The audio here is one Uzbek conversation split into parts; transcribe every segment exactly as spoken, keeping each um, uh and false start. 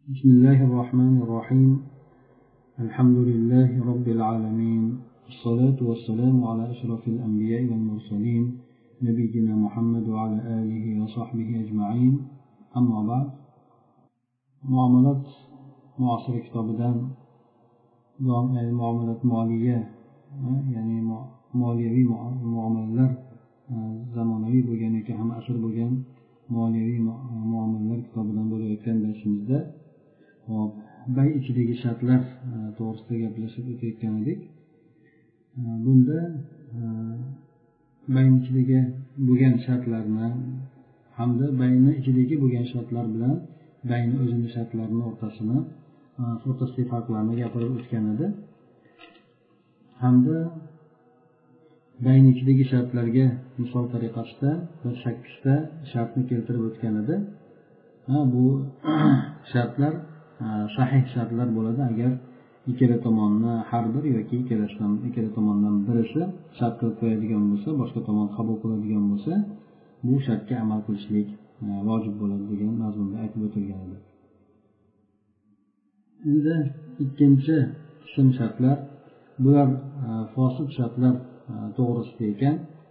بسم الله الرحمن الرحيم. الحمد لله رب العالمين، الصلاة والسلام على أشرف الأنبياء والمرسلين نبينا محمد وعلى آله وصحبه أجمعين. أما بعد، معاملات معاصر كتابدان معاملات مالية، يعني ماليوي muomalalar zamonaviy bo'lganiki ham asr bo'lgan moliyaviy muomalalar kitobidan bo'layotgan darsimizda hop bay ichidagi shartlar to'g'risida gaplashib o'tayotgan edik. Bunda bayni ichidagi bo'lgan shartlarni hamda bayni ichidagi bo'lgan shartlar bilan bayni o'zini shartlarini o'rtasini o'rtasidagi farqlarni gapirib o'tgan edi. Hamda bayni ichidagi shartlarga misol tariqasida bir sakkizta shartni keltirib o'tgan edi. Bu shartlar sahih shartlar bo'ladi agar ikkala tomonni har bir yoki ikkalasidan ikkala tomondan birisi shart qilib qo'yadigan bo'lsa, boshqa tomon qabul qiladigan bo'lsa, bu shartga amal qilishlik vojib bo'ladi degan mazmunda aytib o'tilgan edi. Endi ikkinchi qism shartlar, bular fosid shartlar to'g'risida ekan.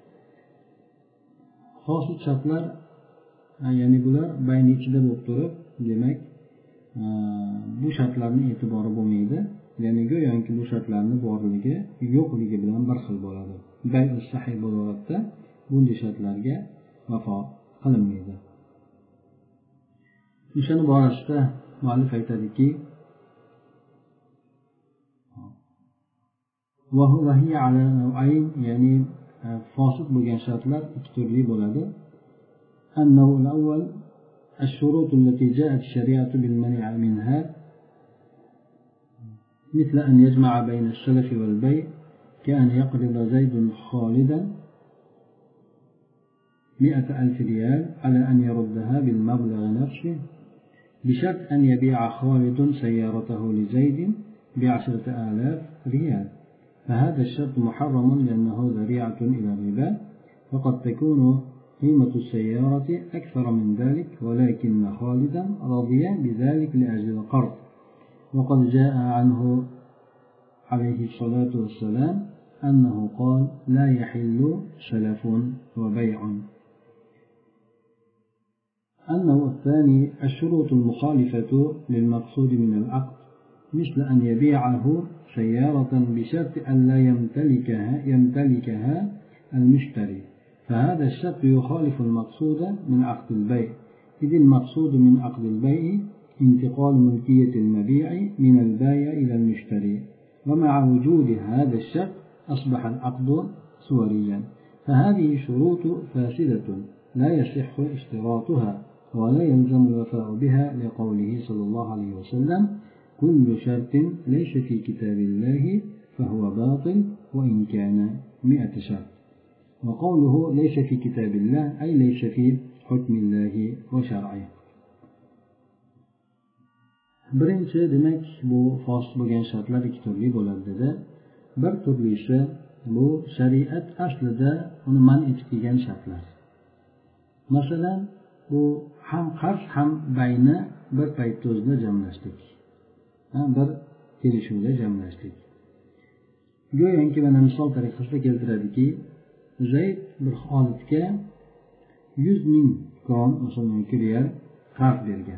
Fosid shartlar, ya'ni bular bayni ichida bo'lib turib, demak bu shartlarning e'tibori bo'lmaydi. Ya'ni go'yoki bu shartlarning borligi yo'qligi bilan bir xil bo'ladi. Bay sahih bo'ladida bunday shartlarga vafo qilinmaydi. O'shani borasida muallif aytadiki, وهي على نوعين، يعني فاسد bo'lgan shartlar ikki turli bo'ladi. النوع الأول الشروط التي جاءت الشريعة بالمنع منها، مثل أن يجمع بين السلف والبيع، كأن يقرض زيد خالدا مئة ألف ريال على أن يردها بالمبلغ نفسه، بشرط أن يبيع خالد سيارته لزيد بعشرة آلاف ريال. فهذا الشرط محرم لأنه ذريعة إلى الربا، وقد تكون قيمة السيارة أكثر من ذلك، ولكن خالدا رضي بذلك لأجل القرض. وقد جاء عنه عليه الصلاة والسلام أنه قال: لا يحل سلف وبيع. النوع الثاني الشروط المخالفة للمقصود من العقد، مثل أن يبيعه سيارة بشرط أن لا يمتلكها يمتلكها المشتري، فهذا الشرط يخالف المقصود من عقد البيع، إذ المقصود من عقد البيع انتقال ملكية المبيع من البائع إلى المشتري، ومع وجود هذا الشرط أصبح العقد صوريا. فهذه شروط فاسدة لا يصح اشتراطها ولا يلزم الوفاء بها، لقوله صلى الله عليه وسلم: كل شرط ليس في كتاب الله فهو باطل وإن كان مئة شرط. وقوله ليس في كتاب الله أي ليس في حكم الله وشرعه. birinchi demak bu fosid bo'lgan shartlar ikki turli bo'ladi dedi. Bir turlisi bu shariat aslida uni man etib kelgan shartlar. Masalan, bu ham qarz ham bayni bir paytda o'zida jamlashdik, bir kelishuvda jamlashdik. Go'yoki mana misol tariqasida keltiradiki, Zayd bir Xolidga yuz ming kron, masalan riyal qarz bergan.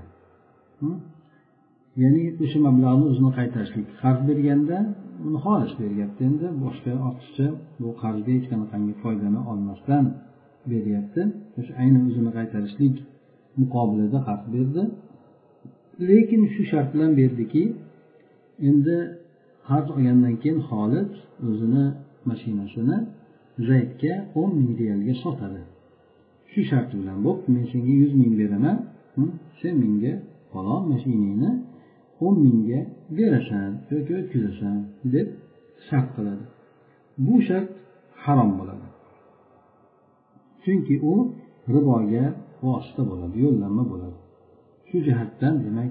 Ya'ni o'sha mablag'ni o'zini qaytarishlik qarz berganda uni xolis beryapti. Endi boshqa ortiqcha bu qarzga hech qanaqangi foydani olmasdan beryapti. O'sha ayni o'zini qaytarishlik muqobilida qarz berdi. Lekin shu shart bilan berdiki, endi qarz olgandan keyin Xolid o'zini mashinasini Zaydga o'n ming riyalga sotadi. Shu shart bilan, bo'p, men senga yuz ming beraman, sen menga falon mashinangni o'n mingga berasan yoki o'tkazasan deb shart qiladi. Bu shart harom bo'ladi. Chunki u riboga vosita bo'ladi, yo'llanma bo'ladi. Shu jihatdan demak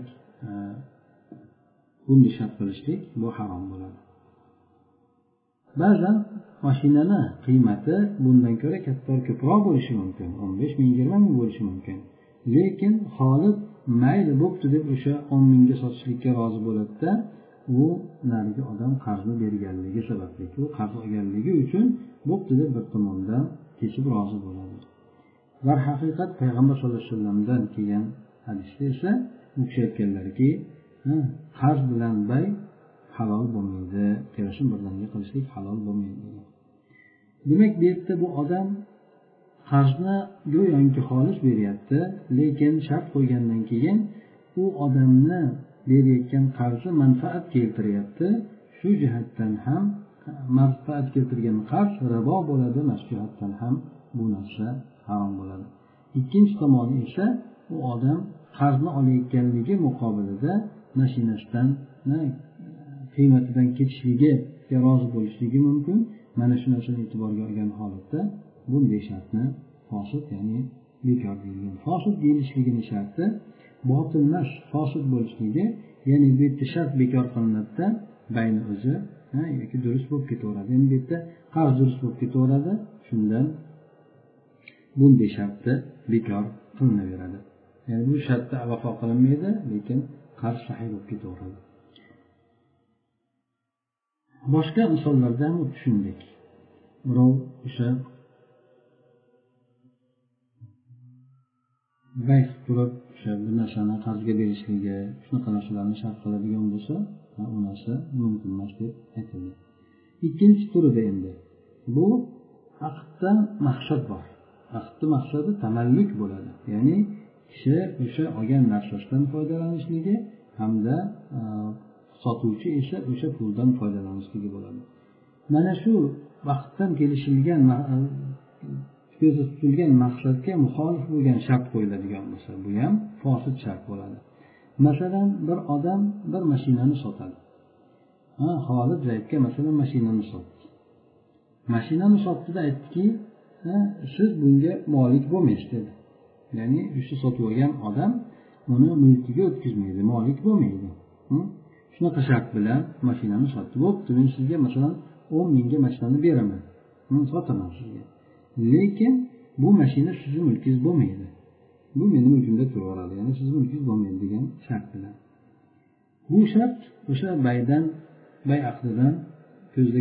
bunday shart qilishlik bu harom bo'ladi. Ba'zan mashinani qiymati bundan ko'ra kattaroq ko'proq bo'lishi mumkin, o'n besh ming, yigirma ming bo'lishi mumkin. Lekin Xolid mayli bo'pti deb o'sha o'n mingga sotishlikka rozi bo'ladida, u narigi odam qarzni berganligi sababli, u qarz olganligi uchun bo'pti deb bir tomondan kesib rozi bo'ladi. Va haqiqat payg'ambar sollallohu alayhi vasallamdan kelgan hadisda esa u kishi aytganlarki, qarz bilan bay halol bo'lmaydi, kelishin birdaniga qilishlik halol bo'lmaydi. Demak, bu yerda bu odam qarzni go'yoki xolis beryapti, lekin shart qo'ygandan keyin u odamni berayotgan qarzi manfaat keltiryapti. Shu jihatdan ham manfaat keltirgan qarz ribo bo'ladi, mana shu jihatdan ham bu narsa harom bo'ladi. Ikkinchi tomoni esa u odam qarzni olayotganligi muqobilida mashinasidan qiymatidan ketishligiga rozi bo'lishligi mumkin. Mana shu narsani e'tiborga olgan holatda bunday shartni fosid, ya'ni bekor deyilgan. Fosid deyilishligining sharti botil emas, fosid bo'lishligi, ya'ni bu yerda shart bekor qilinadida bayni o'zi yoki durust bo'lib ketaveradi. Endi bu yerda qarz durust bo'lib ketaveradi, shundan bunday shartda bekor qilinaveradi. Ya'ni bu shartda vafo qilinmaydi, lekin qarz sahih bo'lib ketaveradi. Boshqa misollarda ham tushundik. Birov o'sha bayt turib o'sha bir narsani qarzga berishligi, shunaqa narsalarni shart qiladigan bo'lsa, u narsa mumkin emas deb aytildi. Ikkinchi turida endi bu aqddan maqsad bor. Aqdning maqsadi tamalluk bo'ladi. Ya'ni kishi o'sha olgan narsasidan foydalanishligi hamda sotuvchi esa o'sha puldan foydalanishligi bo'ladi. Mana shu vaqtdan kelishilgan, ko'zda tutilgan maqsadga muxolif bo'lgan shart qo'yiladigan bo'lsa, bu ham fosid shart bo'ladi. Masalan, bir odam bir mashinani sotadi. Ha, Xolid Zaydga masalan mashinani sotdi. Mashinani sotdida aytdiki, siz bunga molik bo'lmaysiz dedi. Ya'ni o'sha sotib olgan odam uni mulkiga o'tkazmaydi, molik bo'lmaydi. Shunaqa shart bilan mashinani sotdi. Bo'pti, men sizga masalan o'n mingga mashinani beraman. Men sotaman sizga. Lekin bu mashina sizning mulkingiz bo'lmaydi. Bu mening mulkimda turaveradi. Ya'ni sizning mulkingiz bo'lmaydi degan shart bilan. Bu shart o'sha baydan, bay aqdidan ko'zda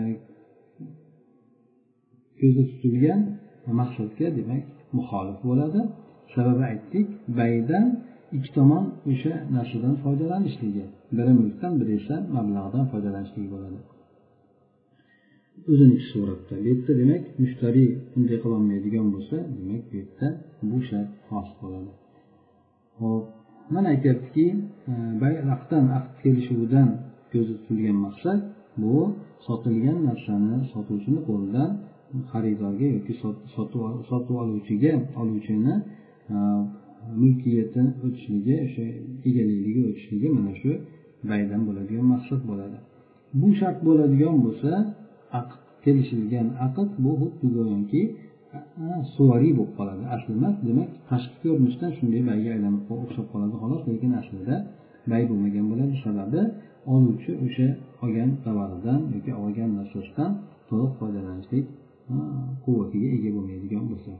ko'zda tutilgan maqsadga demak muxolif bo'ladi. Sababi aytdik, baydan ikki tomon o'sha narsadan foydalanishligi, biri mulkdan, biri esa mablag'dan foydalanishligi bo'ladi. O'zining suratda. Bu yerda demak mushtari bunday qila olmaydigan bo'lsa, demak bu yerda bu shart xos bo'ladi. Xo'p, mana aytayaptiki, bay aqddan aqd kelishuvidan ko'zda tutilgan maqsad bu sotilgan narsani sotuvchini qo'lidan xaridorga yoki sotib oluvchiga, oluvchini mulkiyatini o'tishligi, o'sha egalikligi o'tishligi mana shu baydan bo'ladigan maqsad bo'ladi. Bu shart bo'ladigan bo'lsa, aqd kelishilgan aqd bu xuddi go'yoki suvariy bo'lib qoladi. Asli emas, demak tashqi ko'rinishdan shunday bayga aylanib o'xshab qoladi xolos, lekin aslida bay bo'lmagan bo'ladi. Sababi oluvchi o'sha olgan tovaridan yoki olgan narsasidan to'liq foydalanishlik quvvatiga ega bo'lmaydigan bo'lsa,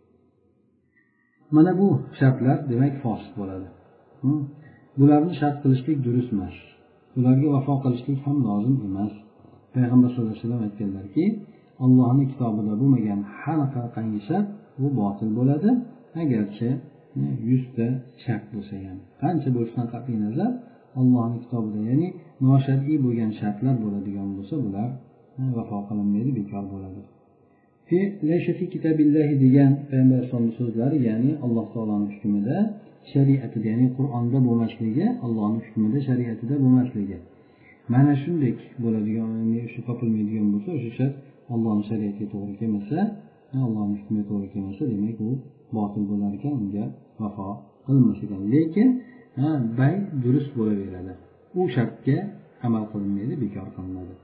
mana bu shartlar demak fosid bo'ladi. Bularni shart qilishlik durust emas. Ularga vafo qilishlik ham lozim emas. Payg'ambar sollallohu alayhi vasallam aytganlarki, Allohning kitobida bo'lmagan har qanday shart bu botil bo'ladi, agarchi yuz ta shart bo'lsa ham. Qancha bo'lishidan qat'iy nazar, Allohning kitobida, ya'ni noshar'iy bo'lgan shartlar bo'ladigan bo'lsa, bular vafo qilinmaydi, bekor bo'ladi. Fi laysa fi kitabillahi degan payg'ambar sollallohu so'zlari, ya'ni Alloh taoloning hukmida, shariatida, ya'ni Qur'onda bo'lmasligi, Allohning hukmida, shariatida bo'lmasligi. Mana shunday bo'ladigan, ya'ni shu topilmaydigan bo'lsa, o'sha shart Allohning shariatiga to'g'ri kelmasa, Allohning hukmiga to'g'ri kelmasa, demak u botil bo'lar ekan, unga vafo qilinmas ekan. Lekin bay durust bo'laveradi. U shartga amal qilinmaydi, bekor qilinadi.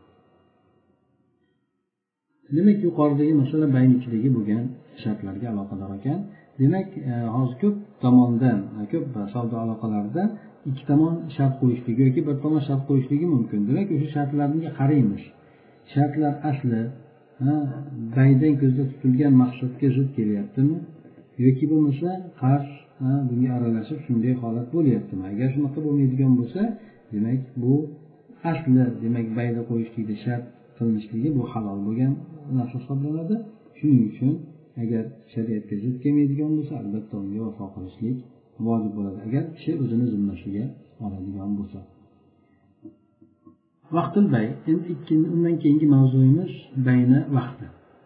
Demak, yuqoridagi masala bayning ichidagi bo'lgan shartlarga aloqador ekan. Demak, hozir ko'p tomondan, ko'p savdo aloqalarida ikki tomon shart qo'yishligi yoki bir tomon shart qo'yishligi mumkin. Demak, o'sha shartlarga qaraymiz. Shartlar asli baydan ko'zda tutilgan maqsadga zid kelyaptimi yoki bo'lmasa qarz bunga aralashib shunday holat bo'lyaptimi? Agar shunaqa bo'lmaydigan bo'lsa, demak bu asli demak bayda qo'yishlikda shart qilinishligi bu halol bo'lgan narsa hisoblanadi. Shuning uchun agar shariatga zid kelmaydigan bo'lsa, albatta unga vafo qilishlik vojib bo'ladi, agar kishi o'zini zimmasiga oladigan bo'lsa. Vaqtul bay. Endi ikkinchi undan keyingi mavzuyimiz bayna vaqti.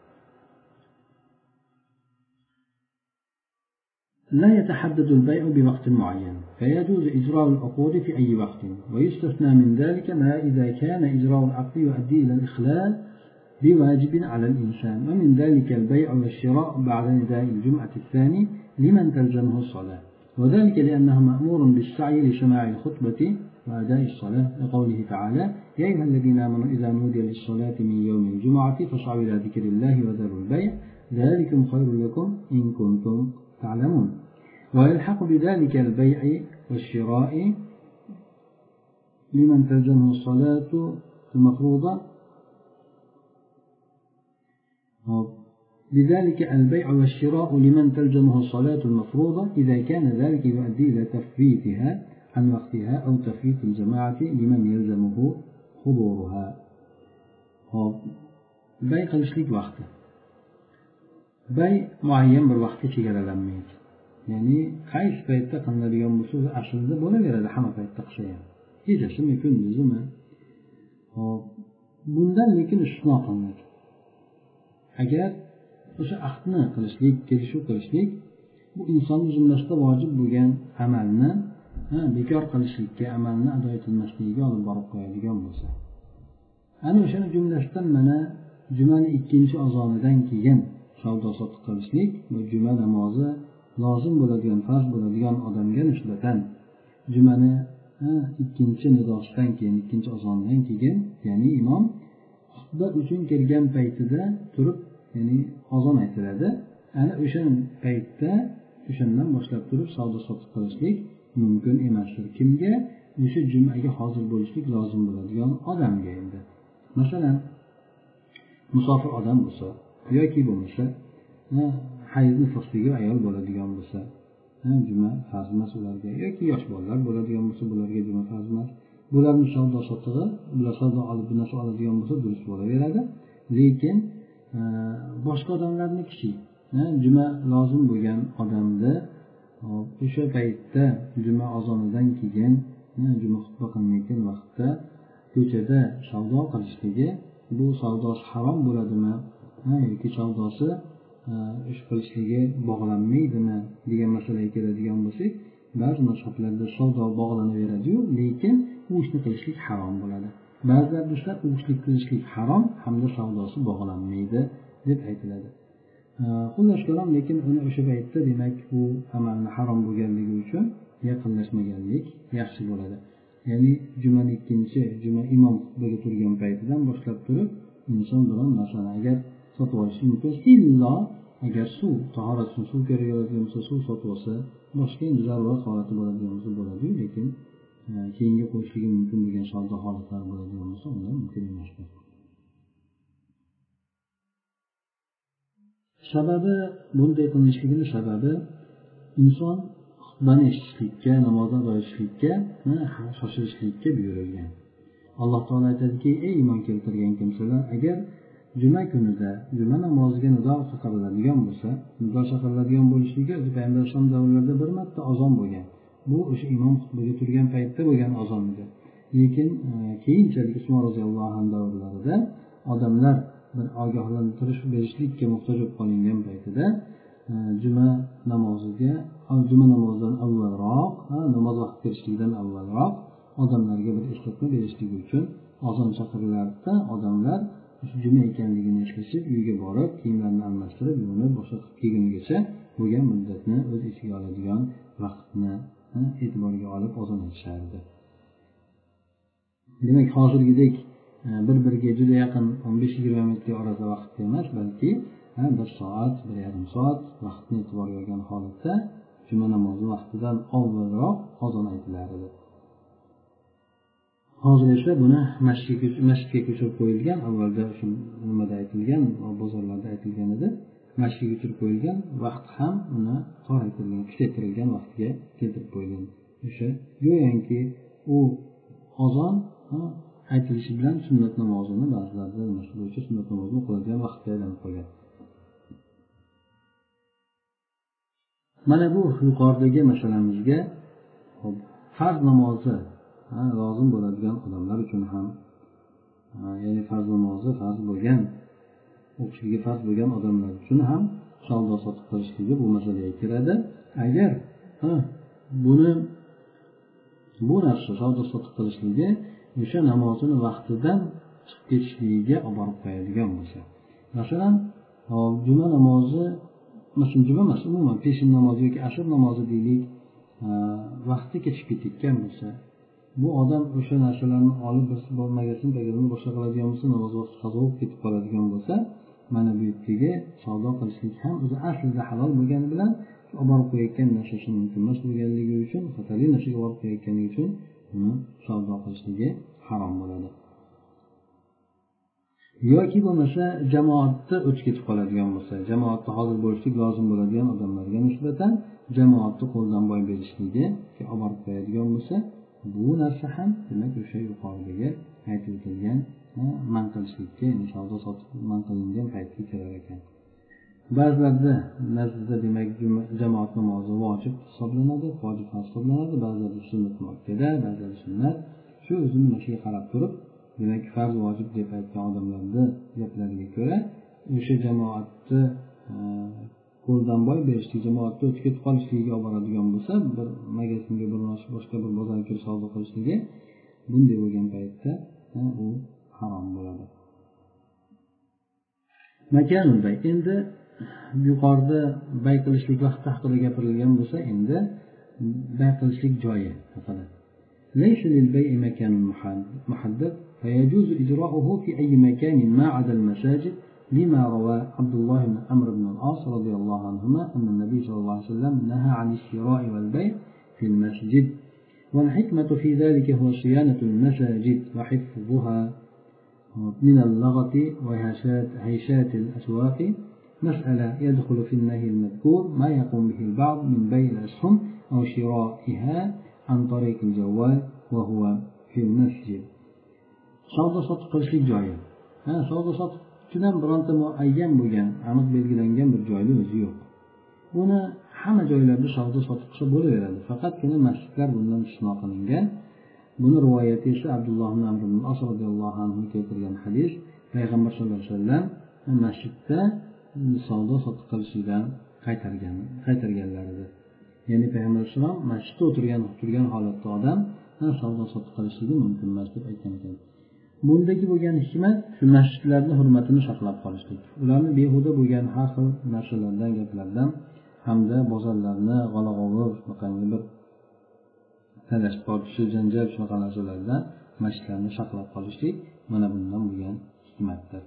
لا يتحدد البيع بوقت معين، فيجوز إجراء العقود في أي وقت، ويستثنى من ذلك ما إذا كان إجراء العقد يؤدي إلى الإخلال بواجب على الإنسان، ومن ذلك البيع والشراء بعد نداء الجمعة الثاني لمن تلزمه الصلاة، وذلك لأنه مأمور بالسعي لسماع الخطبة وأداء الصلاة، لقوله تعالى: يا أيها الذين آمنوا إذا نودي للصلاة من يوم الجمعة فاسعوا إلى ذكر الله وذروا البيع ذلكم خير لكم إن كنتم تعلمون. ويلحق بذلك البيع والشراء لمن تلزمه الصلاة المفروضة، لذلك البيع والشراء لمن تلزمه الصلاة المفروضة إذا كان ذلك يؤدي إلى تفويتها عن وقتها أو تفويت الجماعة لمن يلزمه حضورها. بيع قلشليك وقته bay muayyan bir vaqtga chegaralanmaydi. Ya'ni qaysi paytda qilinadigan bo'lsa, aslida bo'laveradi hamma paytda qilsa ham. Kechasimi, kunduzimi? Hop, bundan lekin istisno qilinadi. Agar o'sha aqdni qilishlik, kelishuv qilishlik bu insonning zimmasida vojib bo'lgan amalni bekor qilishlikka, amalni ado etilmasligiga olib borib qo'yadigan bo'lsa, ana o'shani jumlasidan mana jumani ikkinchi azonidan keyin savdo sotiq qilishlik va juma namozi lozim bo'ladigan, farz bo'ladigan odamga nisbatan jumani ikkinchi nidosidan keyin, ikkinchi azondan keyin, ya'ni imom xutba uchun kelgan paytida turib, ya'ni azon aytiladi. Ana o'sha paytda, o'shandan boshlab turib savdo sotiq qilishlik mumkin emasdir. Kimga? O'sha jumaga hozir bo'lishlik lozim bo'ladigan odamga. Endi masalan, musofir odam bo'lsa yoki bo'lmasa hayz nifosdagi ayol bo'ladigan bo'lsa, juma farz emas ularga, yoki yosh bolalar bo'ladigan bo'lsa, bularga juma farz emas. Bularning savdo sotig'i, bular savdo olib bir narsa oladigan bo'lsa durust bo'laveradi. Lekin boshqa odamlarning kishi juma lozim bo'lgan odamda o'sha paytda juma azonidan keyin juma xutba qilinayotgan vaqtda ko'chada savdo qilishligi, bu savdosi harom bo'ladimi yoki savdosi ish qilishligi bog'lanmaydimi degan masalaga keladigan bo'lsak, ba'zi mazhablarda savdo bog'lanaveradi-yu, lekin u ishni qilishlik harom bo'ladi. Ba'zilar esa u ishni qilishlik harom hamda savdosi bog'lanmaydi deb aytiladi. Xullas kalom, lekin uni o'sha paytda demak bu amalni harom bo'lganligi uchun yaqinlashmaganlik yaxshi bo'ladi. Ya'ni jumani ikkinchi, juma imom xutbaga turgan paytidan boshlab turib inson biron narsani agar sotib olishi mumkin, illo agar suv, tahorat uchun suv kerak bo'ladigan bo'lsa suv sotib olsa, boshqa endi zarurat holati bo'ladigan bo'lsa bo'ladi, lekin keyinga qo'yishligi mumkin bo'lgan savdo holatlari bo'ladigan bo'lsa unda mumkin emas. Sababi, bunday qilinishligining sababi inson xutbani eshitishlikka, namoz ado etishlikka, shoshilishlikka buyurilgan. Alloh taolo aytadiki: ey iymon keltirgan kimsalar, agar juma kunida juma namoziga nido chaqiriladigan bo'lsa, nido chaqiriladigan bo'lishligi Payg'ambar alayhisalom davrlarida bir marta azon bo'lgan. Bu o'sha imom xutbaga turgan paytda bo'lgan azon edi. Lekin keyinchalik Usmon roziyallohu anhu davrlarida odamlar bir ogohlantirish berishlikka muhtoj bo'lib qolingan paytida juma namoziga, juma namozidan avvalroq, namoz vaqti kirishligidan avvalroq odamlarga bir eslatma berishlik uchun azon chaqirilardi. Odamlar juma ekanligini eslashib uyga borib kiyimlarini almashtirib yuvinib boshqa kelgungacha bo'lgan muddatni o'z ichiga oladigan vaqtni e'tiborga olib azon aytishardi. Demak, hozirgidek bir-biriga juda yaqin o'n besh yigirma minutga orada vaqt emas, balki bir soat, bir yarim soat vaqtni e'tiborga olgan holatda juma namozi vaqtidan avvalroq azon aytilar edi. Hozir esa buni masjidga masjidga ko'chirib qo'yilgan, avvalda shu nimada aytilgan, bozorlarda aytilgan edi. masjidga turib qo'yilgan vaqt ham uni toraytirilgan kuchaytirilgan vaqtga keltirib qo'yilgan. O'sha go'yoki u azon aytilishi bilan sunnat namozini ba'zilarda nima bo'yicha sunnat namozini o'qiladigan vaqtga aylanib qolgan. Mana bu yuqoridagi masalamizga farz namozi lozim bo'ladigan odamlar uchun ham, ya'ni farz namozi farz bo'lgan, o'qishligi farz bo'lgan odamlar uchun ham savdo sotiq qilishligi bu masalaga kiradi. Agar buni bu narsa savdo sotiq qilishligi o'sha namozini vaqtidan chiqib ketishligiga olib borib qo'yadigan bo'lsa, masalan juma namozi, masalan juma emas, umuman peshin namozi yoki asr namozi deylik, vaqti kechib ketayotgan bo'lsa, bu odam o'sha narsalarni olib bir magazin bagazini boshqa qiladigan bo'lsa, namoz vaqti qazo bo'lib ketib qoladigan bo'lsa, mana bu yerdagi savdo qilishlik ham o'zi aslida halol bo'lgani bilan olib borib qo'yayotgan narsasi mumkin emas bo'lganligi uchun, xatarli narsaga olib qo'yayotganligi uchun uni savdo qilishligi harom bo'ladi. Yoki bo'lmasa jamoatda o'tib ketib qoladigan bo'lsa, jamoatda hozir bo'lishlik lozim bo'ladigan odamlarga nisbatan jamoatni qo'ldan boy berishligi olib borib qo'yadigan bo'lsa, bu narsa ham demak o'sha yuqoridagi aytib o'tilgan man qilishlikka, ya'ni savdo sotiq man qilingan paytga kirar ekan. Ba'zilarda nazdida demak jamoat namozi vojib hisoblanadi, vojib hisoblanadi, ba'zilarda sunnat muakkada, ba'zilarda sunnat. Shu o'zini mashiga qarab turib, demak farz vojib deb aytgan odamlarning gaplariga ko'ra o'sha jamoatni qo'ldan boy berishlik, jamoatga o'tib ketib qolishligiga olib boradigan bo'lsa, bir magazinga, bir boshqa bir bozorga kirib savdo qilishligi, bunday bo'lgan paytda u harom bo'ladi. Makanul bay, endi yuqorida bay qilishlik vaqti haqida gapirilgan bo'lsa, endi bay qilishlik joyi haqida. Laysa lil bay'i makanun muhaddad فيجوز إجراؤه في أي مكان ما عدا المساجد لما روى عبد الله بن عمرو بن العاص رضي الله عنهما أن النبي صلى الله عليه وسلم نهى عن الشراء والبيع في المسجد، والحكمة في ذلك هو صيانة المساجد وحفظها من اللغط وهيشات الأسواق. مسألة يدخل في النهي المذكور ما يقوم به البعض من بيع الأسهم أو شرائها عن طريق الجوال وهو في المسجد. savdo sotiq qilishlik joyi. Ha, savdo sotiq uchun ham bironta muayyan bo'lgan, aniq belgilangan bir joyning o'zi yo'q. Buni hamma joylarda savdo sotiq qilsa bo'laveradi. Faqatgina masjidlar bundan istisno qilingan. Buni rivoyati esa Abdulloh ibn Amr ibn As radhiyallohu anhu keltirgan hadis. Payg'ambar sollallohu alayhi vasallam masjidda savdo sotiq qilishdan qaytargan, qaytarganlaridir. Ya'ni Payg'ambar sollallohu alayhi vasallam masjidda o'tirgan, turgan holatda odam savdo sotiq qilishligi mumkin emas deb aytgan ekan. Bundagi bo'lgan hikmat shu masjidlarning hurmatini saqlab qolishlik, ularni behuda bo'lgan har xil narsalardan, gaplardan hamda bozorlarni g'ala-g'ovur, shunaqangi bir talash tortishi, janjal shunaqa narsalardan masjidlarni saqlab qolishlik mana bundan bo'lgan hikmatdir.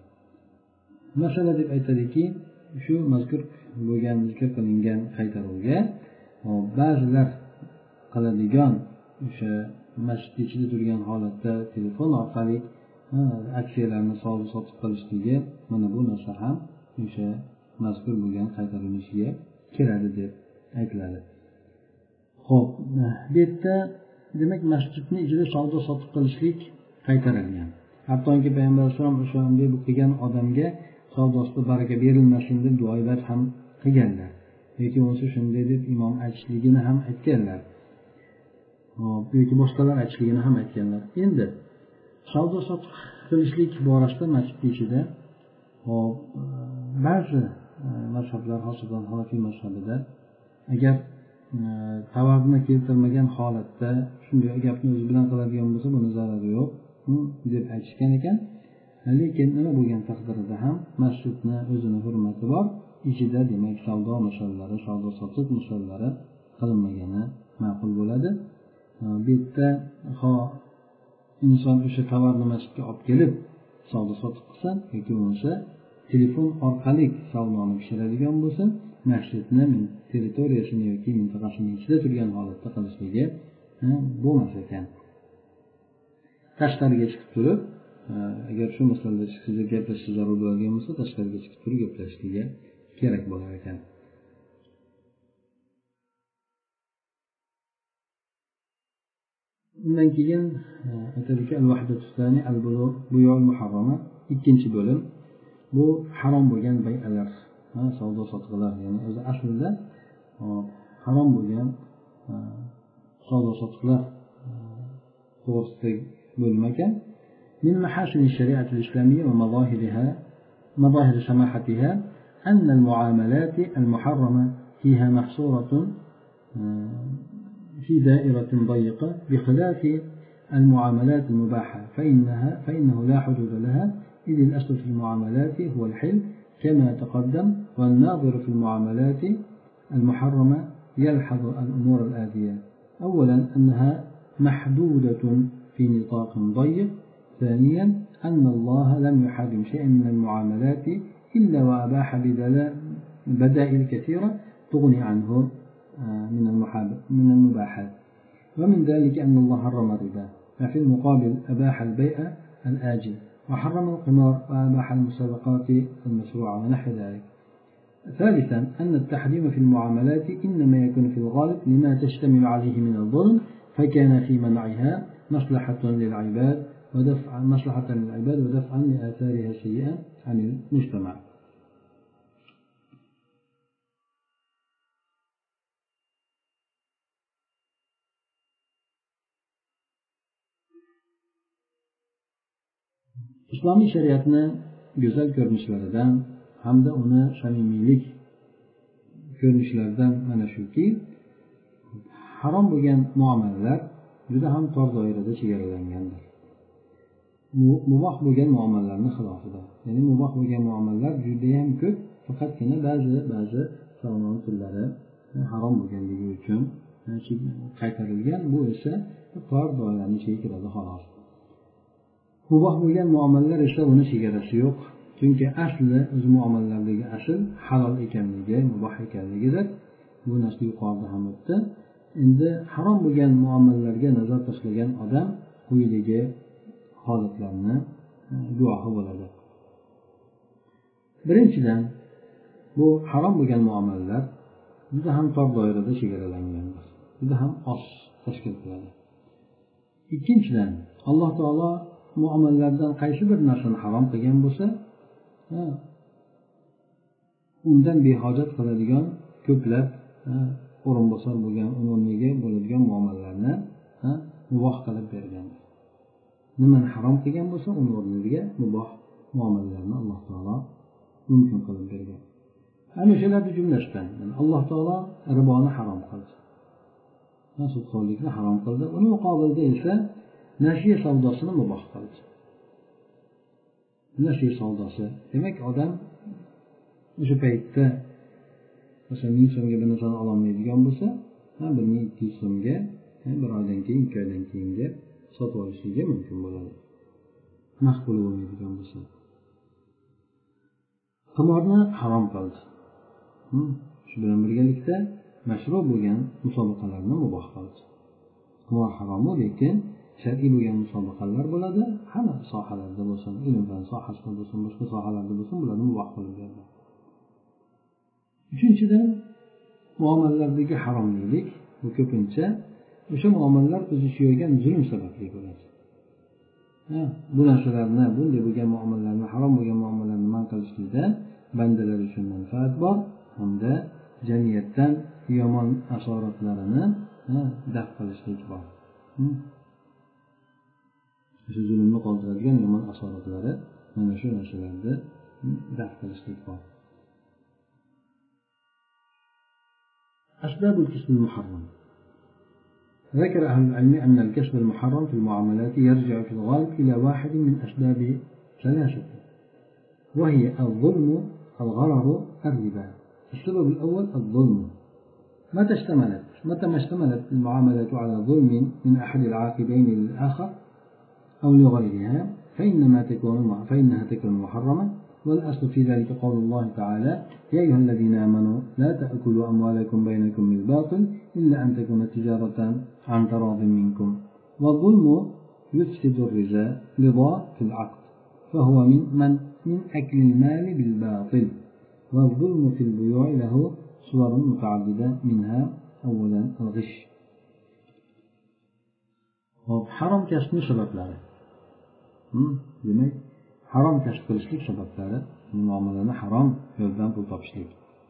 Masala deb aytadiki, shu mazkur bo'lgan zikr qilingan qaytaruvga ba'zilar qiladigan o'sha masjid ichida turgan holatda telefon orqali aksiyalarni savdo sotiq qilishligi, mana bu narsa ham o'sha mazkur bo'lgan qaytarilishiga kiradi deb aytiladi. Xo'p, bu yerda demak masjidning ichida savdo sotiq qilishlik qaytarilgan. Hattoki Payg'ambar sollallohu alayhi vasallam o'shanday qilgan odamga savdosida baraka berilmasin deb duolar ham qilganlar. Yoki bo'lsa shunday deb imom aytishligini ham aytganlar. Hop, yoki boshqalar aytishligini ham aytganlar. Endi savdo sotiq qilishlik borasida masjid ichida hop ba'zi mazhablar, xosasan Hanafiy mazhabida agar tovarni keltirmagan holatda shunday gapni o'zi bilan qiladigan bo'lsa, buni zarari yo'q deb aytishgan ekan. Lekin nima bo'lgan taqdirda ham masjidni o'zini hurmati bor, ichida demak savdo masalalari, savdo sotiq masalalari qilinmagani ma'qul bo'ladi. Bu yerda ho inson o'sha tovarni masjidga olib kelib savdo sotiq qilsa yoki bo'lmasa telefon orqali savdoni pishiradigan bo'lsa, masjidni territoriyasini yoki mintaqasini ichida turgan holatda qilishligi bo'lmas ekan. Tashqariga chiqib turib, agar shu masalada siz gaplashishga zarur bo'ladigan bo'lsa, tashqariga chiqib turib gaplashishiga kerak bo'lar ekan. undan keyin aytadiki al-vahdatu thani al-buyu' al-muharrama, ikkinchi bo'lim bu harom bo'lgan bay'alar, savdo sotiqlar, ya'ni o'zi aslida harom bo'lgan savdo sotiqlar to'g'risidagi bo'lim ekan. من محاسن الشريعة الإسلامية ومظاهرها مظاهر سماحتها أن المعاملات المحرمة فيها محصورة في دائرة ضيقة بخلاف المعاملات المباحة فإنها فإنه لا حدود لها، إذ الأصل في المعاملات هو الحل كما تقدم، والناظر في المعاملات المحرمة يلحظ الأمور الآتية: أولا أنها محدودة في نطاق ضيق، ثانيا أن الله لم يحرم شيئا من المعاملات إلا وأباح بدائل كثيرة تغني عنه من المباحات، ومن ذلك أن الله حرم الربا وفي المقابل أباح البيع الآجل، وحرم القمار وأباح المسابقات المشروعة ونحو ذلك. ثالثا أن التحريم في المعاملات إنما يكون في الغالب لما تشتمل عليه من الظلم، فكان في منعها مصلحة للعباد ودفع مصلحة للعباد ودفعا لآثارها السيئة عن المجتمع. islomiy shariatni go'zal ko'rinishlaridan hamda uni samimiylik ko'rinishlaridan mana shuki, harom bo'lgan muomalalar juda ham tor doirada chegaralangandir. Muboh bo'lgan muomalalarning xilofida, ya'ni muboh bo'lgan muomalalar juda ham ko'p, faqatgina ba'zi ba'zi savdo turlari harom bo'lganligi uchun qaytarilgan. Bu esa tor doiraning ichiga kiradi xolos. Muboh bo'lgan muomalalar esa buni chegarasi yo'q. Chunki asli o'z muomalalardagi asl halol ekanligi, muboh ekanligidir. Bu narsa yuqorida ham o'tdi. Endi harom bo'lgan muomalalarga nazar tashlagan odam quyidagi holatlarni guvohi bo'ladi. Birinchidan, bu harom bo'lgan muomalalar juda ham tor doirada chegaralangandir. Juda ham oz tashkil qiladi. Ikkinchidan, Alloh taolo muomalalardan qaysi bir narsani harom qilgan bo'lsa, undan behojat qiladigan ko'plab o'rinbosar bo'lgan, o'rniga bo'ladigan muomalalarni muboh qilib bergan. Nimani harom qilgan bo'lsa, uni o'rniga muboh muomalalarni Alloh taolo mumkin qilib bergan. Ana shularning jumlasidan Alloh taolo riboni harom qildi. Sudxo'rlikni harom qildi. Uning muqobilida esa nashiya savdosini muboh qildi. Nashiya savdosi, demak odam o'sha paytda masalan ming so'mga bir narsani ololmaydigan bo'lsa, bir ming ikki yuz so'mga bir oydan keyin, ikki oydan keyinga sotib olishligi mumkin bo'ladi. Maqbul bo'lmaydigan bo'lsa. Qimorni harom qildi. Shu bilan birgalikda mashru bo'lgan musobaqalarni muboh qildi. Qimor harom, lekin shar'iy bo'lgan musobaqalar bo'ladi. Hamma sohalarda bo'lsin, ilm fan sohasida bo'lsin, boshqa sohalarda bo'lsin, bularni muboh qilib berdi. Uchinchidan, muomalalardagi haromlik bu ko'pincha o'sha muomalalar o'zi suygan zulm sababli bo'ladi. Ha, bu narsalarni, bunday bo'lgan muomalalarni, harom bo'lgan muomalalarni man qilishlikda bandalar uchun manfaat bor hamda jamiyatdan yomon asoratlarini daf qilishlik bor. Shu zulmni qoldiradigan yomon asoratlari mana shu narsalarda daf qilishlik bor. أسباب الكسب المحرم. ذكر أهل العلم أن الكسب المحرم في المعاملات يرجع في الغالب إلى واحد من أسباب ثلاثة، وهي الظلم، الغرر، الربا. السبب الأول الظلم. متى اشتملت متى ما اشتملت المعاملة على ظلم من أحد العاقبين للآخر أو لغيرها فإنما تكون فإنها تكون محرمة. والأصل في ذلك قول الله تعالى: يا أيها الذين آمنوا لا تأكلوا أموالكم بينكم بالباطل إلا أن تكون تجارة عن تراض منكم. والظلم يفسد الرضا في العقد، فهو من من من أكل المال بالباطل. والظلم في البيوع له صور متعددة منها أولا الغش. harom kasbni sabablari. Demak, harom kasb qilishlik sabablari, muomalani harom yo'ldan pul topishlik.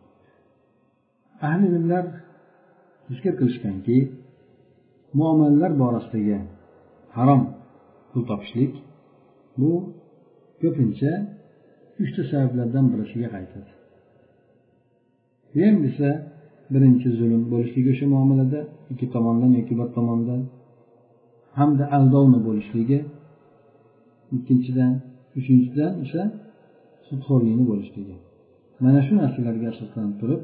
Ahli ilmlar zikr qilishganki, muomalalar borasidagi harom pul topishlik bu ko'pincha uchta sabablardan birisiga qaytadi. Ham esa birinchi zulm bo'lishligi o'sha muomalada ikki tomondan yoki bir tomondan, hamda aldovni bo'lishligi, ikkinchidan, uchinchidan esa sudxo'rlikni bo'lishligi. Mana shu narsalarga asoslanib turib,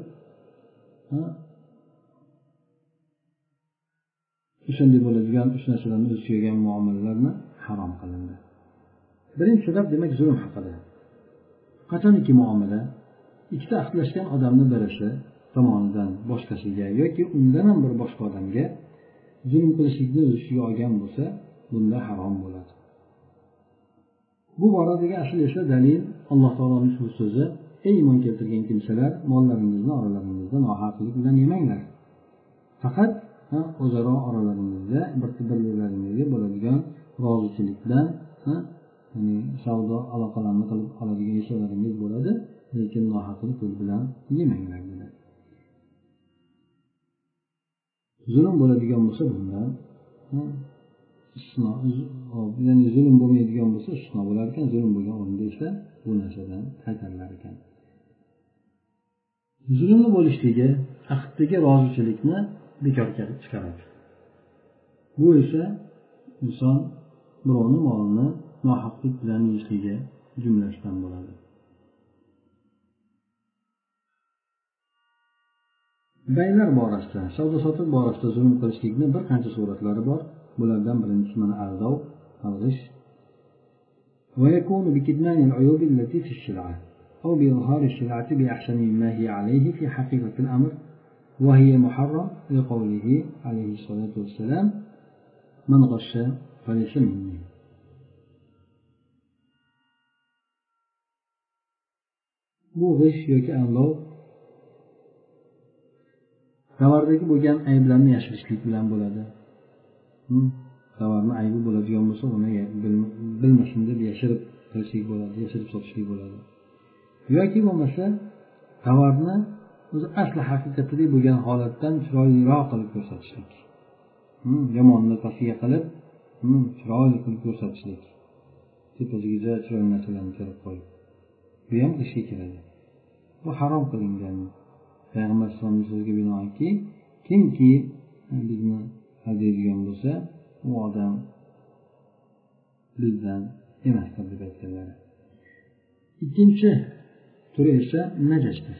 o'shanday bo'ladigan uch narsalarni o'z ichiga muomalalarni harom qilindi. Birinchi sabab demak zulm haqida. Qachoniki muomala ikkita aqlashgan odamning birisi tomonidan boshqasiga yoki undan ham bir boshqa odamga zulm qilishlikni o'z ichiga olgan bo'lsa, bunda harom bo'ladi. Bu boradagi asl esa dalil Alloh taoloning shu so'zi: ey iymon keltirgan kimsalar, mollaringizni oralaringizda nohaqlik bilan yemanglar. Faqat o'zaro oralaringizda bir-birlaringizga bo'ladigan rozichilik bilan, ya'ni savdo aloqalarini qilib oladigan ishlarimiz bo'ladi, lekin nohaqlik bilan yemanglar dedi. Zulm bo'ladigan bo'lsa bundan istisno, ya'ni zulm bo'lmaydigan bo'lsa istisno bo'lar ekan, zulm bo'lgan o'rinda esa bu narsadan qaytarilar ekan. Zulmni bo'lishligi aqddagi rozichilikni bekorga chiqaradi. Bu esa inson birovni molini nohaqlik bilan yeyishligi jumlasidan bo'ladi. Baylar borasida, savdo sotiq borasida zulm qilishlikning bir qancha suratlari bor. Bulardan birinchisi mana aldov, alg'ish. Va yakunu bi kitmani al-uyub allati fi ash-shil'a aw bi izhar ash-shil'ati bi ahsani mimma hiya alayhi fi haqiqati al-amr wa hiya muharram li qawlihi alayhi salatu wassalam: man ghasha falaysa minni. Bu g'ish yoki aldov tavardagi bo'lgan ayblarni yashirishlik bilan bo'ladi. Tovarni aybi bo'ladigan bo'lsa, uni bilmasin deb yashirib qilishlik bo'ladi, yashirib sotishlik bo'ladi. Yoki bo'lmasa, tovarni o'zi asli haqiqatida bo'lgan holatdan chiroyliroq qilib ko'rsatishlik. Yomonni pastiga qilib, chiroyli qilib ko'rsatishlik. Tepasiga chiroyli narsalarni kirib qo'yib. Bu ham ishga kiradi. Bu harom qilingan. Payg'ambar sollallohu alayhi vasallamga binoanki, kimki bizni hadaydigan bo'lsa, u odam bizdan emasdir deb aytganlar. Ikkinchi turi esa najashdir.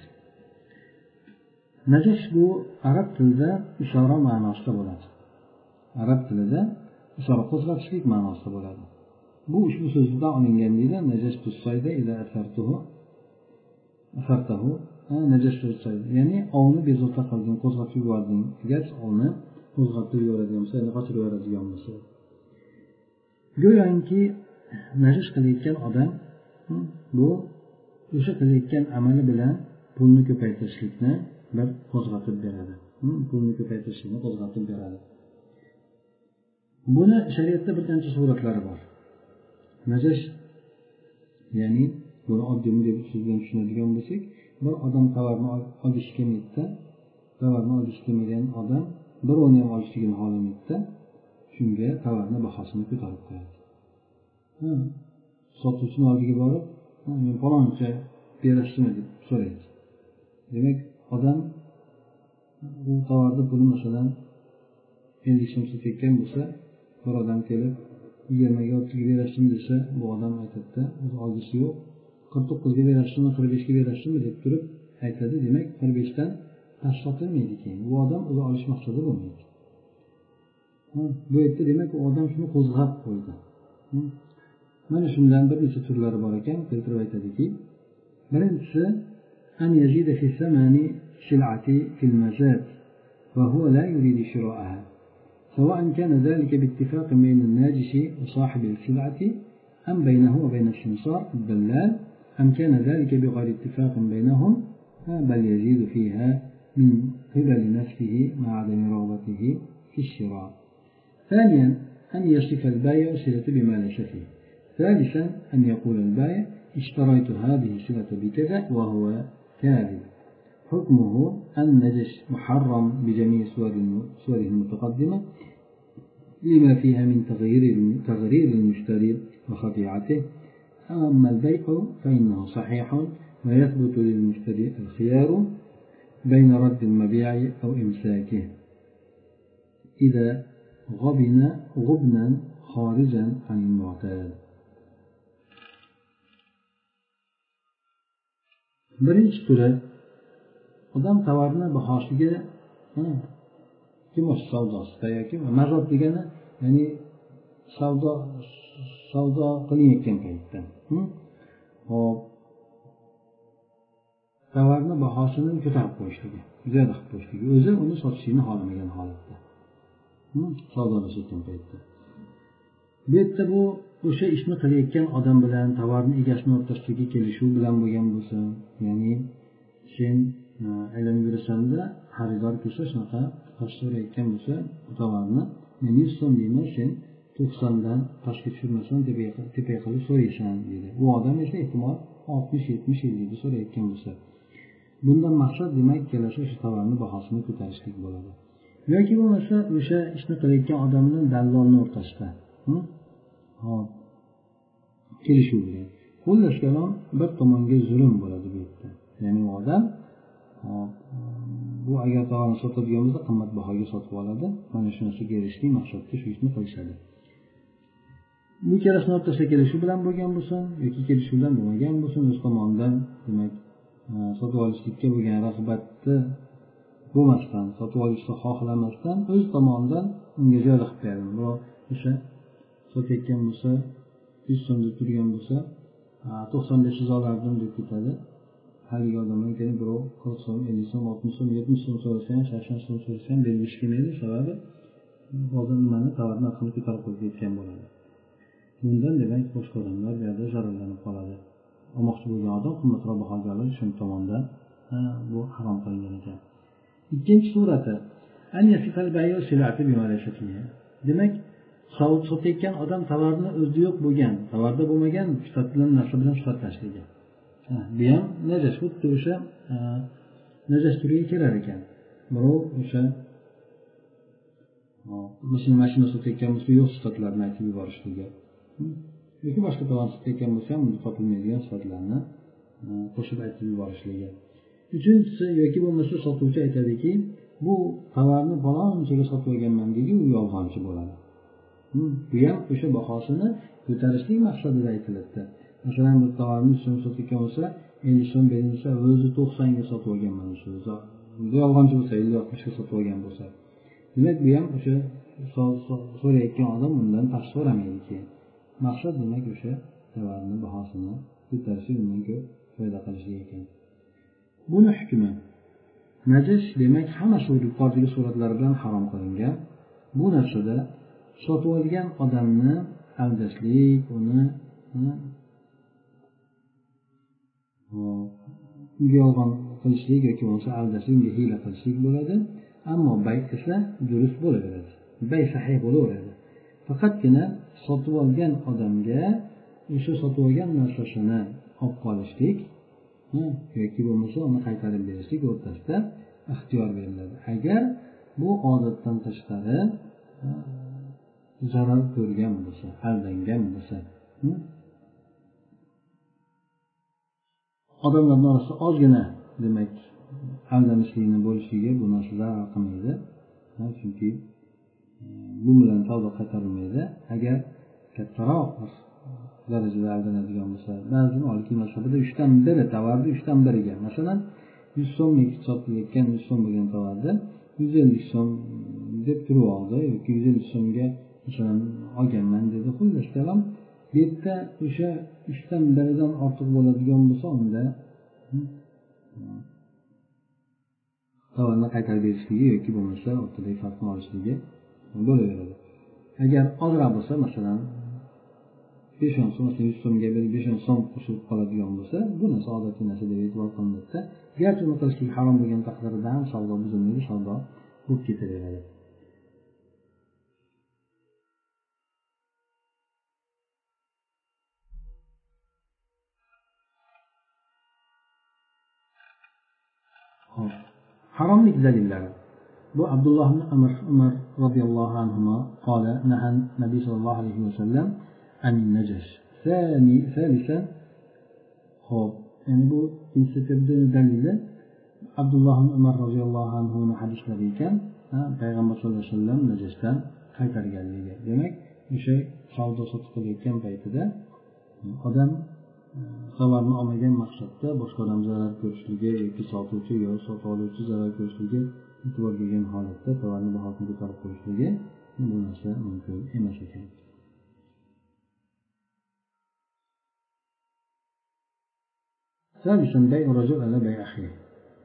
Najash bu arab tilida ishora ma'nosida bo'ladi. Arab tilida ishora qo'zg'atishlik ma'nosida bo'ladi. Bu ushbu so'zdan olingan deydi. Najash tusayda ila asartuhu asartahu najash tusayda, ya'ni ovni bezovta qilding, qo'zg'atib yubording. Agar ovni qo'zg'atib yuboradigan bo'lsa, ya'ni qochirib yuboradigan bo'lsa, go'yoki najash qilayotgan odam bu o'sha qilayotgan amali bilan pulni ko'paytirishlikni bir qo'zg'atib beradi. Pulni ko'paytirishlikni qo'zg'atib beradi. Buni shariatda bir qancha suratlari bor. Najash, ya'ni buni oddiy deb so'z bilan tushunadigan bo'lsak, bir odam tovarni olishga kelmaydi, tovarni olishga kelmagan odam birovni ham olishligini xohlamaydi, shunga tovarni bahosini ko'tarib qo'yadi. Ha, sotuvchining oldiga borib, men faloncha berasizmi deb so'raydi. Demak, odam bu tovarni puli masalan ellik so'm sotayotgan bo'lsa, bir odam kelib yigirmaga o'ttizga berasizmi desa, bu odam aytadi, o'zi olgisi yo'q, qirq to'qqizga berasizmi, qirq beshga berasizmi deb turib aytadi. Demak, qirq beshdan past sotilmaydi keyin. Bu odam o'zi olish maqsadi bo'lmaydi. Bu yerda demak u odam shuni qo'zg'ab qo'ydi. Mana shundan bir necha turlari bor ekan, keltirib aytadiki, birinchisi an yazida fi samani shil'ati fil mazad va huwa la yuridu shira'aha. سواء كان ذلك باتفاق بين الناجش وصاحب السلعة أم بينه وبين السمسار الدلال أم كان ذلك بغير اتفاق بينهم بل يزيد فيها من قبل نفسه مع عدم رغبته في الشراء. ثانيا أن يصف البائع الصلة بما ليس فيه. ثالثا أن يقول البائع اشتريت هذه الصلة بكذا وهو كاذب. حكمه النجس محرم بجميع صوره المتقدمة لما فيها من تغيير تغرير المشتري وخديعته. أما البيع فإنه صحيح ويثبت للمشتري الخيار بين رد المبيع أو إمساكه إذا غبن غبنا خارجا عن المعتاد. birinchi turi odam tovarni bahosiga kimosh savdosida yoki mazot degani ya'ni savdo savdo qilinayotgan paytda hop tovarni bahosini ko'tarib qo'yishligi, ziyoda qilib qo'yishligi, o'zi uni sotishni xohlamagan holatda savdolashayotgan paytda. Bu yerda bu o'sha ishni qilayotgan odam bilan tovarni egasini o'rtasidagi kelishuv bilan bo'lgan bo'lsa, ya'ni sen aylanib yursanda xaridor kelsa shunaqa past so'rayotgan bo'lsa tovarni men yuz so'm deyman, sen to'qsondan pastga tushirmasdan tepaga qilib so'raysan deydi. Bu odam esa ehtimol oltmish yetmish ellikda so'rayotgan bo'lsa, bundan maqsad demak kelasi o'sha tovarni bahosini ko'tarishlik bo'ladi. yoki bo'lmasa o'sha ishni qilayotgan odamni dallolni o'rtasida hop kelishuv bilan xullas kalom bir tomonga zulm bo'ladi bu yerda. Ya'ni u odam bu agar tovarni sotadigan bo'lsa qimmat bahoga sotib oladi, mana shu narsaga erishishlik maqsadda shu ishni qilishadi. Bu ikkalasini o'rtasida kelishuv bilan bo'lgan bo'lsin yoki kelishuv bilan bo'lmagan bo'lsin, o'z tomonidan demak sotib olishlikka bo'lgan rag'batni bo'lmasdan, sotib olishni xohlamasdan o'z tomonidan unga ziyoda qilib beradi. Biroq o'sha sotayotgan bo'lsa yuz so'm deb turgan bo'lsa to'qson besh siz olardim deb ketadi. Haligi odamdan keyin birov qirq so'm, ellik so'm, oltmish so'm, yetmish so'm so'rasa ham, sakson so'm so'rasa ham bergisi kelmaydi. Sababi hozir nimani tovarni narxini ko'tarib qo'yib ketgan bo'ladi. Bundan demak boshqa odamlar bu yerda zararlanib qoladi. Olmoqchi bo'lgan odam qimmatroq bahoga oladi, shu tomondan bu harom qilingan ekan. Ikkinchi surati demak sotayotgan odam tovarni o'zida yo'q bo'lgan, tovarda bo'lmagan sifatli narsa bilan sifatlashligi. Bu ham najas, xuddi o'sha najas turiga kirar ekan. Birov o'sha masalan mashina sotayotgan bo'lsa yo'q sifatlarni aytib yuborishligi yoki boshqa tovar sotayotgan bo'lsa ham unda topilmaydigan sifatlarni qo'shib aytib yuborishligi. Uchinchisi yoki bo'lmasa sotuvchi aytadiki, bu tovarni falonchaga sotib olganman deydi, u yolg'onchi bo'ladi. Bu ham o'sha bahosini ko'tarishlik maqsadida aytiladi. Masalan, bir tovarni so'm sotayotgan bo'lsa, ellik so'm berilsa, o'zi to'qsonga sotib olganman shu. Bu yolg'onchi bo'lsa, ellik oltmishga sotib olgan bo'lsa, demak bu ham o'sha so'rayotgan odam undan past so'ramaydi keyin. Maqsad demak o'sha tovarni bahosini ko'tarishlik, undan ko'p foyda qilishlik ekan. Buni hukmi najis demak hamma yuqoridagi suratlar bilan harom qilingan. Bu narsada sotib olgan odamni aldashlik, uni unga yolg'on qilishlik yoki bo'lmasa aldashlik, unga hiyla qilishlik bo'ladi. Ammo bay esa durust bo'laveradi. Bay sahih bo'laveradi. Faqatgina sotib olgan odamga o'sha sotib olgan narsasini olib qolishlik yoki bo'lmasa uni qaytarib berishlik o'rtasida ixtiyor beriladi. Agar bu odatdan tashqari zarar ko'rgan bo'lsa, aldangan bo'lsa, odamlarning orasida ozgina demak aldanishlikni bo'lishiga bu narsa zarar qilmaydi. Chunki bu bilan savdo qaytarilmaydi. Agar kattaroq darajada aldanadigan bo'lsa, ba'zi Molikiy mazhabida uchdan biri tovarni uchdan biriga, masalan yuz so'mlik sotilayotgan yuz so'm bo'lgan tovarni yuz ellik so'm deb turib oldi yoki yuz ellik so'mga masalan olganman dedi. Xullas kalom bu yerda o'sha uchdan biridan ortiq bo'ladigan bo'lsa, unda tovarni qaytarib berishligi yoki bo'lmasa o'rtadagi farqni olishligi bo'laveradi. Agar ozroq bo'lsa, masalan besh o'n so'm yuz so'mga bir besh o'n so'm qo'shilib qoladigan bo'lsa bu narsa odatiy narsa deb e'tibor qilinadida. Garchi uni qilishlik harom bo'lgan taqdirda ham savdo buzilmaydi, savdo bo'lib ketaveradi. haromlik dalillari. Bu Abdulloh ibn Umar Umar radhiyallohu anhu qala nahan Nabiy sallallohu alayhi vasallam an najash. Thani thalithan hop. Yani bu insitirdi dalili Abdulloh ibn Umar radhiyallohu anhu hadislari ekan, payg'ambar sallallohu alayhi vasallam najashdan qaytarganligi. Demak, o'sha savdo sotiq qilayotgan paytida odam tovarni olmagan maqsadda boshqa odam zarar ko'rishligi yoki sotuvchi yo sotib oluvchi zarar ko'rishligi e'tibor bergan holatda tovarni bahosini ko'tarib qo'yishligi bu narsa mumkin emas ekan. ثالثا بيع الرجل على بيع أخيه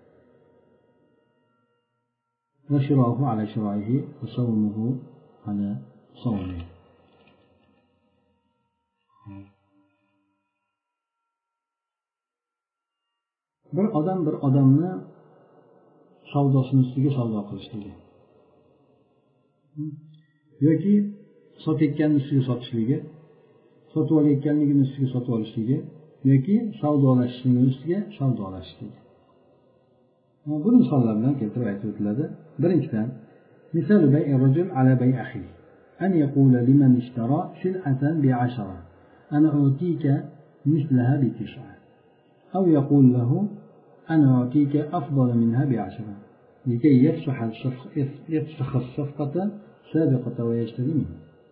وشراؤه على شرائه وصومه على صومه. bir odam bir odamni savdosini ustiga savdo qilishligi yoki sotayotganini ustiga sotishligi, sotib olayotganligini ustiga sotib olishligi yoki savdolashishning ustiga savdolashishligi. Bu misollar bilan keltirib aytib o'tiladi. Birinchidan, misol bay' ar-rajul ala bay' akhi an yaqula liman ishtara sil'atan bi'ashara ana utika mislaha bi tis'a aw yaqul lahu ana utika afdala minha bi'ashara likay yafsah yafsah as-safqata sabiqata wa yashtari minhu.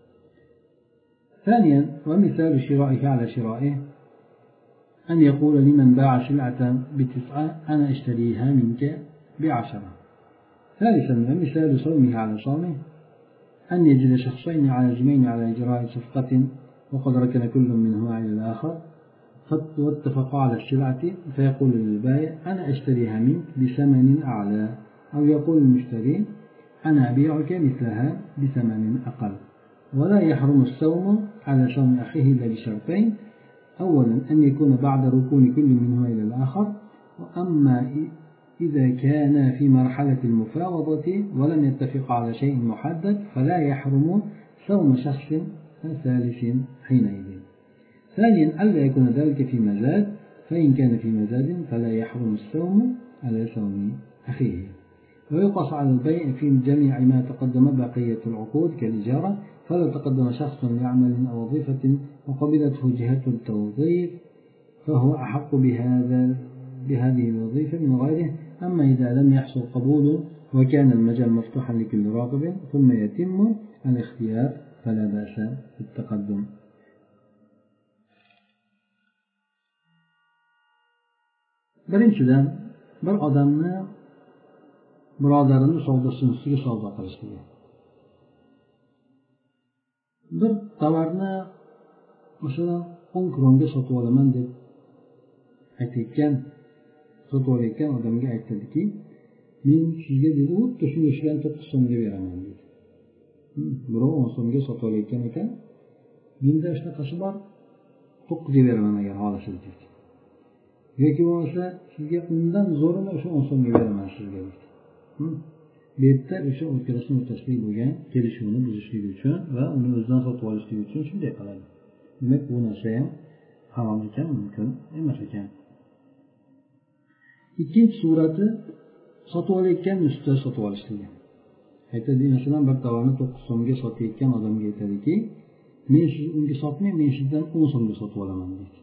ثانيا ومثال شرائه على شرائه أن يقول لمن باع سلعة بتسعة أنا أشتريها منك بعشرة. ثالثا ومثال صومه على صومه أن يجد شخصين عازمين على إجراء صفقة وقد ركن كل منهما إلى الآخر واتفقوا على السلعة فيقول للبائع أنا أشتريها منك بثمن أعلى أو يقول المشتري أنا أبيعك مثلها بثمن أقل. ولا يحرم الصوم على صوم أخيه إلا بشرطين: أولا أن يكون بعد ركون كل منهما إلى الآخر، وأما إذا كان في مرحلة المفاوضة ولم يتفق على شيء محدد فلا يحرم صوم شخص ثالث حينئذ. ثانيا ألا يكون ذلك في مزاد، فإن كان في مزاد فلا يحرم الصوم على صوم أخيه. ويقص على البيع في جميع ما تقدم بقية العقود كالإجارة، فلو تقدم شخص لعمل أو وظيفة وقبلته جهة التوظيف فهو أحق بهذا بهذه الوظيفة من غيره. أما إذا لم يحصل قبول وكان المجال مفتوحا لكل راغب ثم يتم الاختيار فلا بأس بالتقدم. birinchidan bir odamni birodarini savdosini ustiga savdo qilishligi. Bir tovarni masalan o'n kronga sotib olaman deb aytayotgan sotib olayotgan odamga aytadiki, men sizga dedi xuddi shunga o'xshagan to'qqiz so'mga beraman dedi. Birov o'n so'mga sotib olayotgan ekan, menda shunaqasi bor, to'qqizga beraman agar xohlasangiz dedi. yoki bo'lmasa sizga undan zo'rini o'sha o'n so'mga beraman sizga dedi. Bu yerda o'sha o'rtasini o'rtasidagi bo'lgan kelishuvni buzishlik uchun va uni o'zidan sotib olishlik uchun shunday qiladi. Demak, bu narsa ham harom ekan, mumkin emas ekan. Ikkinchi surati sotib olayotgan ustida sotib olishligi. Aytadi, masalan, bir tovarni to'qqiz so'mga sotayotgan odamga aytadiki, men siz unga sotmay, men sizdan o'n so'mga sotib olaman deydi.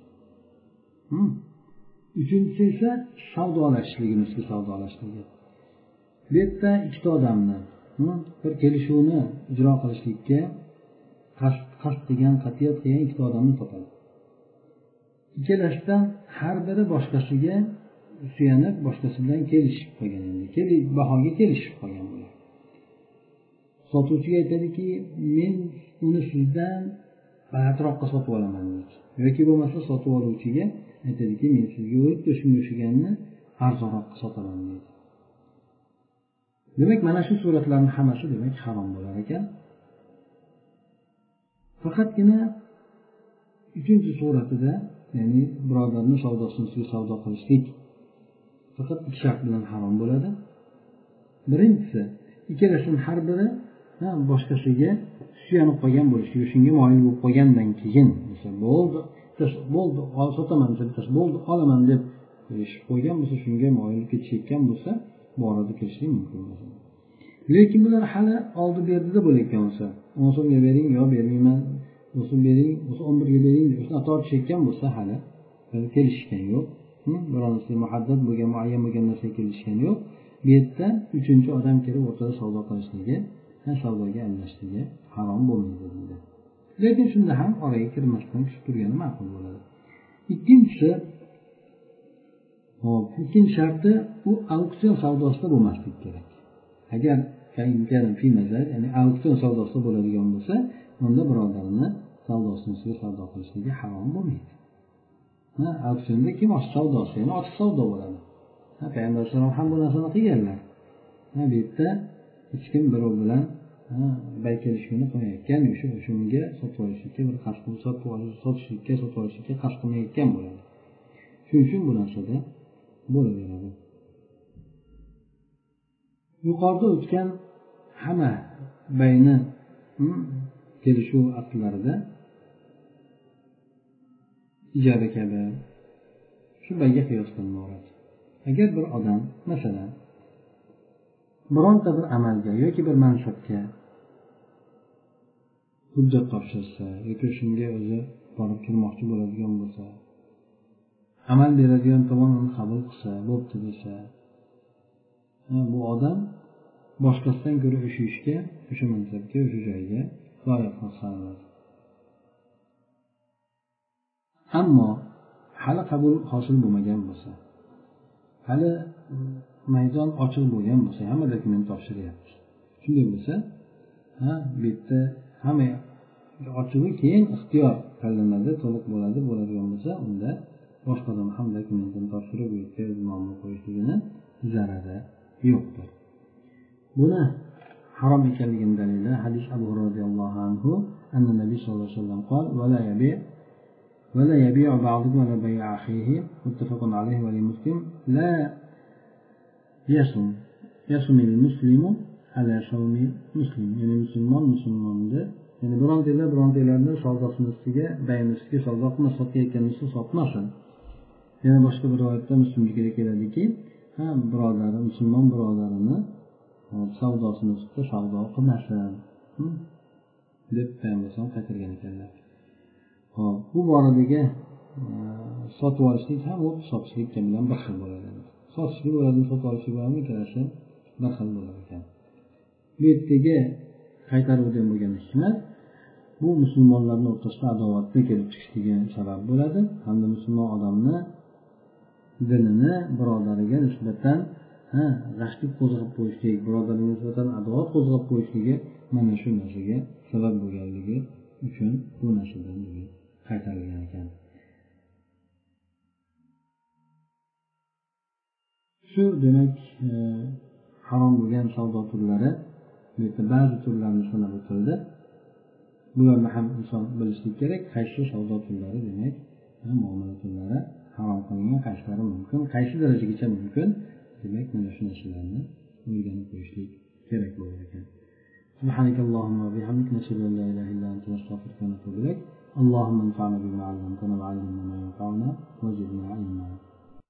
Uchinchisi esa savdolashishlik, misli savdolashishligi. Bu yerda ikkita odamni bir kelishuvni ijro qilishlikka qasd qilgan, qat'iyat qilgan ikkita odamni topadi. Ikkalasidan har biri boshqasiga suyanib, boshqasi bilan kelishib qolgan, endi kelib bahoga kelishib qolgan bo'ladi. Sotuvchiga aytadiki, men uni sizdan balandroqqa sotib olaman deydi. yoki bo'lmasa sotib oluvchiga aytadiki, men sizga o'tda shunga o'xshaganni arzonroqqa sotaman deydi. Demak, mana shu suratlarning hammasi demak harom bo'lar ekan. Faqatgina uchinchi suratida, ya'ni birodarni savdosini ustiga savdo qilishlik faqat ikki shart bilan harom bo'ladi. Birinchisi, ikkalasining har biri boshqasiga suyanib qolgan bo'lishligi, shunga moyil bo'lib qolgandan keyin mesela bo'ldi, bo'ldi, sotaman deb, bo'ldi, olaman deb kelishib qo'ygan bo'lsa, shunga moyil ketishayotgan bo'lsa, bu orada kelishlik mumkin bo'ladi. Lekin bular hali oldi berdida bo'layotgan bo'lsa, o'n so'mga bering, yo bermayman, o'sib bering, o'sib o'n birga bering deb shuni tortishayotgan bo'lsa, hali kelishgan yo'q. Bironasi muhaddad bo'lgan, muayyan bo'lgan narsaga kelishgan yo'q. Bu yerda uchinchi odam kelib o'rtada savdo qilishligi, savdoga aralashishligi harom bo'lmaydi deydi. Lekin shunda ham oraga kirmasdan tushib turgani ma'qul bo'ladi. Ikkinchisi, hop, ikkinchi sharti u auksion savdosida bo'lmasligi kerak. Agar ya'ni auksion savdosida bo'ladigan bo'lsa, unda birodarni savdosini ustiga savdo qilishligi harom bo'lmaydi. Ha, auksionda kim ochiq savdosi, ya'ni ochiq savdo bo'ladi. Ha, Payg'ambar sollallohu ham bu narsani qilganlar. Ha, bu yerda hech kim birov bilan bay kelishuvni qilmayotgan, o'sha shunga sotib olishlikka bir qasd sotib olish, sotishlikka, sotib olishlikka qasd qilmayotgan bo'ladi. Shuning uchun bu narsada bo'laveradi. Yuqorida o'tgan hamma bayni kelishuv aqdlarida ijara kabi shu bayga qiyos qilinadi. Agar bir odam masalan bironta bir amalga yoki bir mansabga hujjat topshirsa yoki shunga o'zi borib kirmoqchi bo'ladigan bo'lsa, amal beradigan tomon uni qabul qilsa, bo'pti desa, bu odam boshqasidan ko'ra o'sha ishga, o'sha mansabga, o'sha joyga loyiq hisoblanadi. Ammo hali qabul hosil bo'lmagan bo'lsa, hali maydon ochiq bo'lgan bo'lsa, hamma dokument topshiryapti. Shunday bo'lsa, ha, bu yerda hamma ochig'i keyin ixtiyor tanlanadi, to'liq bo'ladi, bo'ladigan bo'lsa, unda boshqa odam ham dokumentini topshirib, bu yerga o'z nomini qo'yishligini zarari yo'qdir. Buni harom ekanligini dalili hadis Abu Hurayra radhiyallohu anhu, anna Nabiy sallallohu alayhi vasallam qol: "Va la yabi' va la yabi'u ba'dukum ala bay'i akhihi", muttafaqun alayhi va li Muslim, la yasum yasumil muslimu ala sawmi muslim. Ya'ni musulmon musulmonni, ya'ni birontalar birontalarni savdosini ustiga, bay'ini ustiga savdo qilmas, sotayotgan narsa sotmasin. Yana boshqa bir rivoyatda Muslimga keladiki, ha, birodari, musulmon birodarini savdosini ustida savdo qilmasin deb Payg'ambar qaytargan ekanlar. Hop, bu boradagi sotib olishlik ham u sotishlik bilan bir xil bo'ladi. Sotishlik bo'ladi, sotib olishlik bo'ladi, ikkalasi bir xil bo'lar ekan. Bu yerdagi qaytaruvdan bo'lgan hikmat bu musulmonlarning o'rtasida adovatni kelib chiqishiga sabab bo'ladi, hamda musulmon odamni dinini birodariga nisbatan ha, g'ashlik qo'zg'ab qo'yishlik, birodariga nisbatan adovat qo'zg'ab qo'yishligi mana shu narsaga sabab bo'lganligi uchun bu narsadan qaytarilgan ekan. Shu demak e, harom bo'lgan savdo turlari, bu yerda ba'zi turlarni sanab o'tildi. Bularni ham inson bilishlik kerak, qaysi savdo turlari demak, muomala turlari harom qilingan, qaysilari mumkin, qaysi darajagacha mumkin, demak mana shu narsalarni o'rganib qo'yishlik kerak bo'lar ekan. Subhanakallahumma va bihamdika, nashhadu an la ilaha illa anta, nastaghfiruka va natubu ilayk. Allohumma anfa'na bima 'allamtana wa 'allimna ma yanfa'una wa zidna ilma.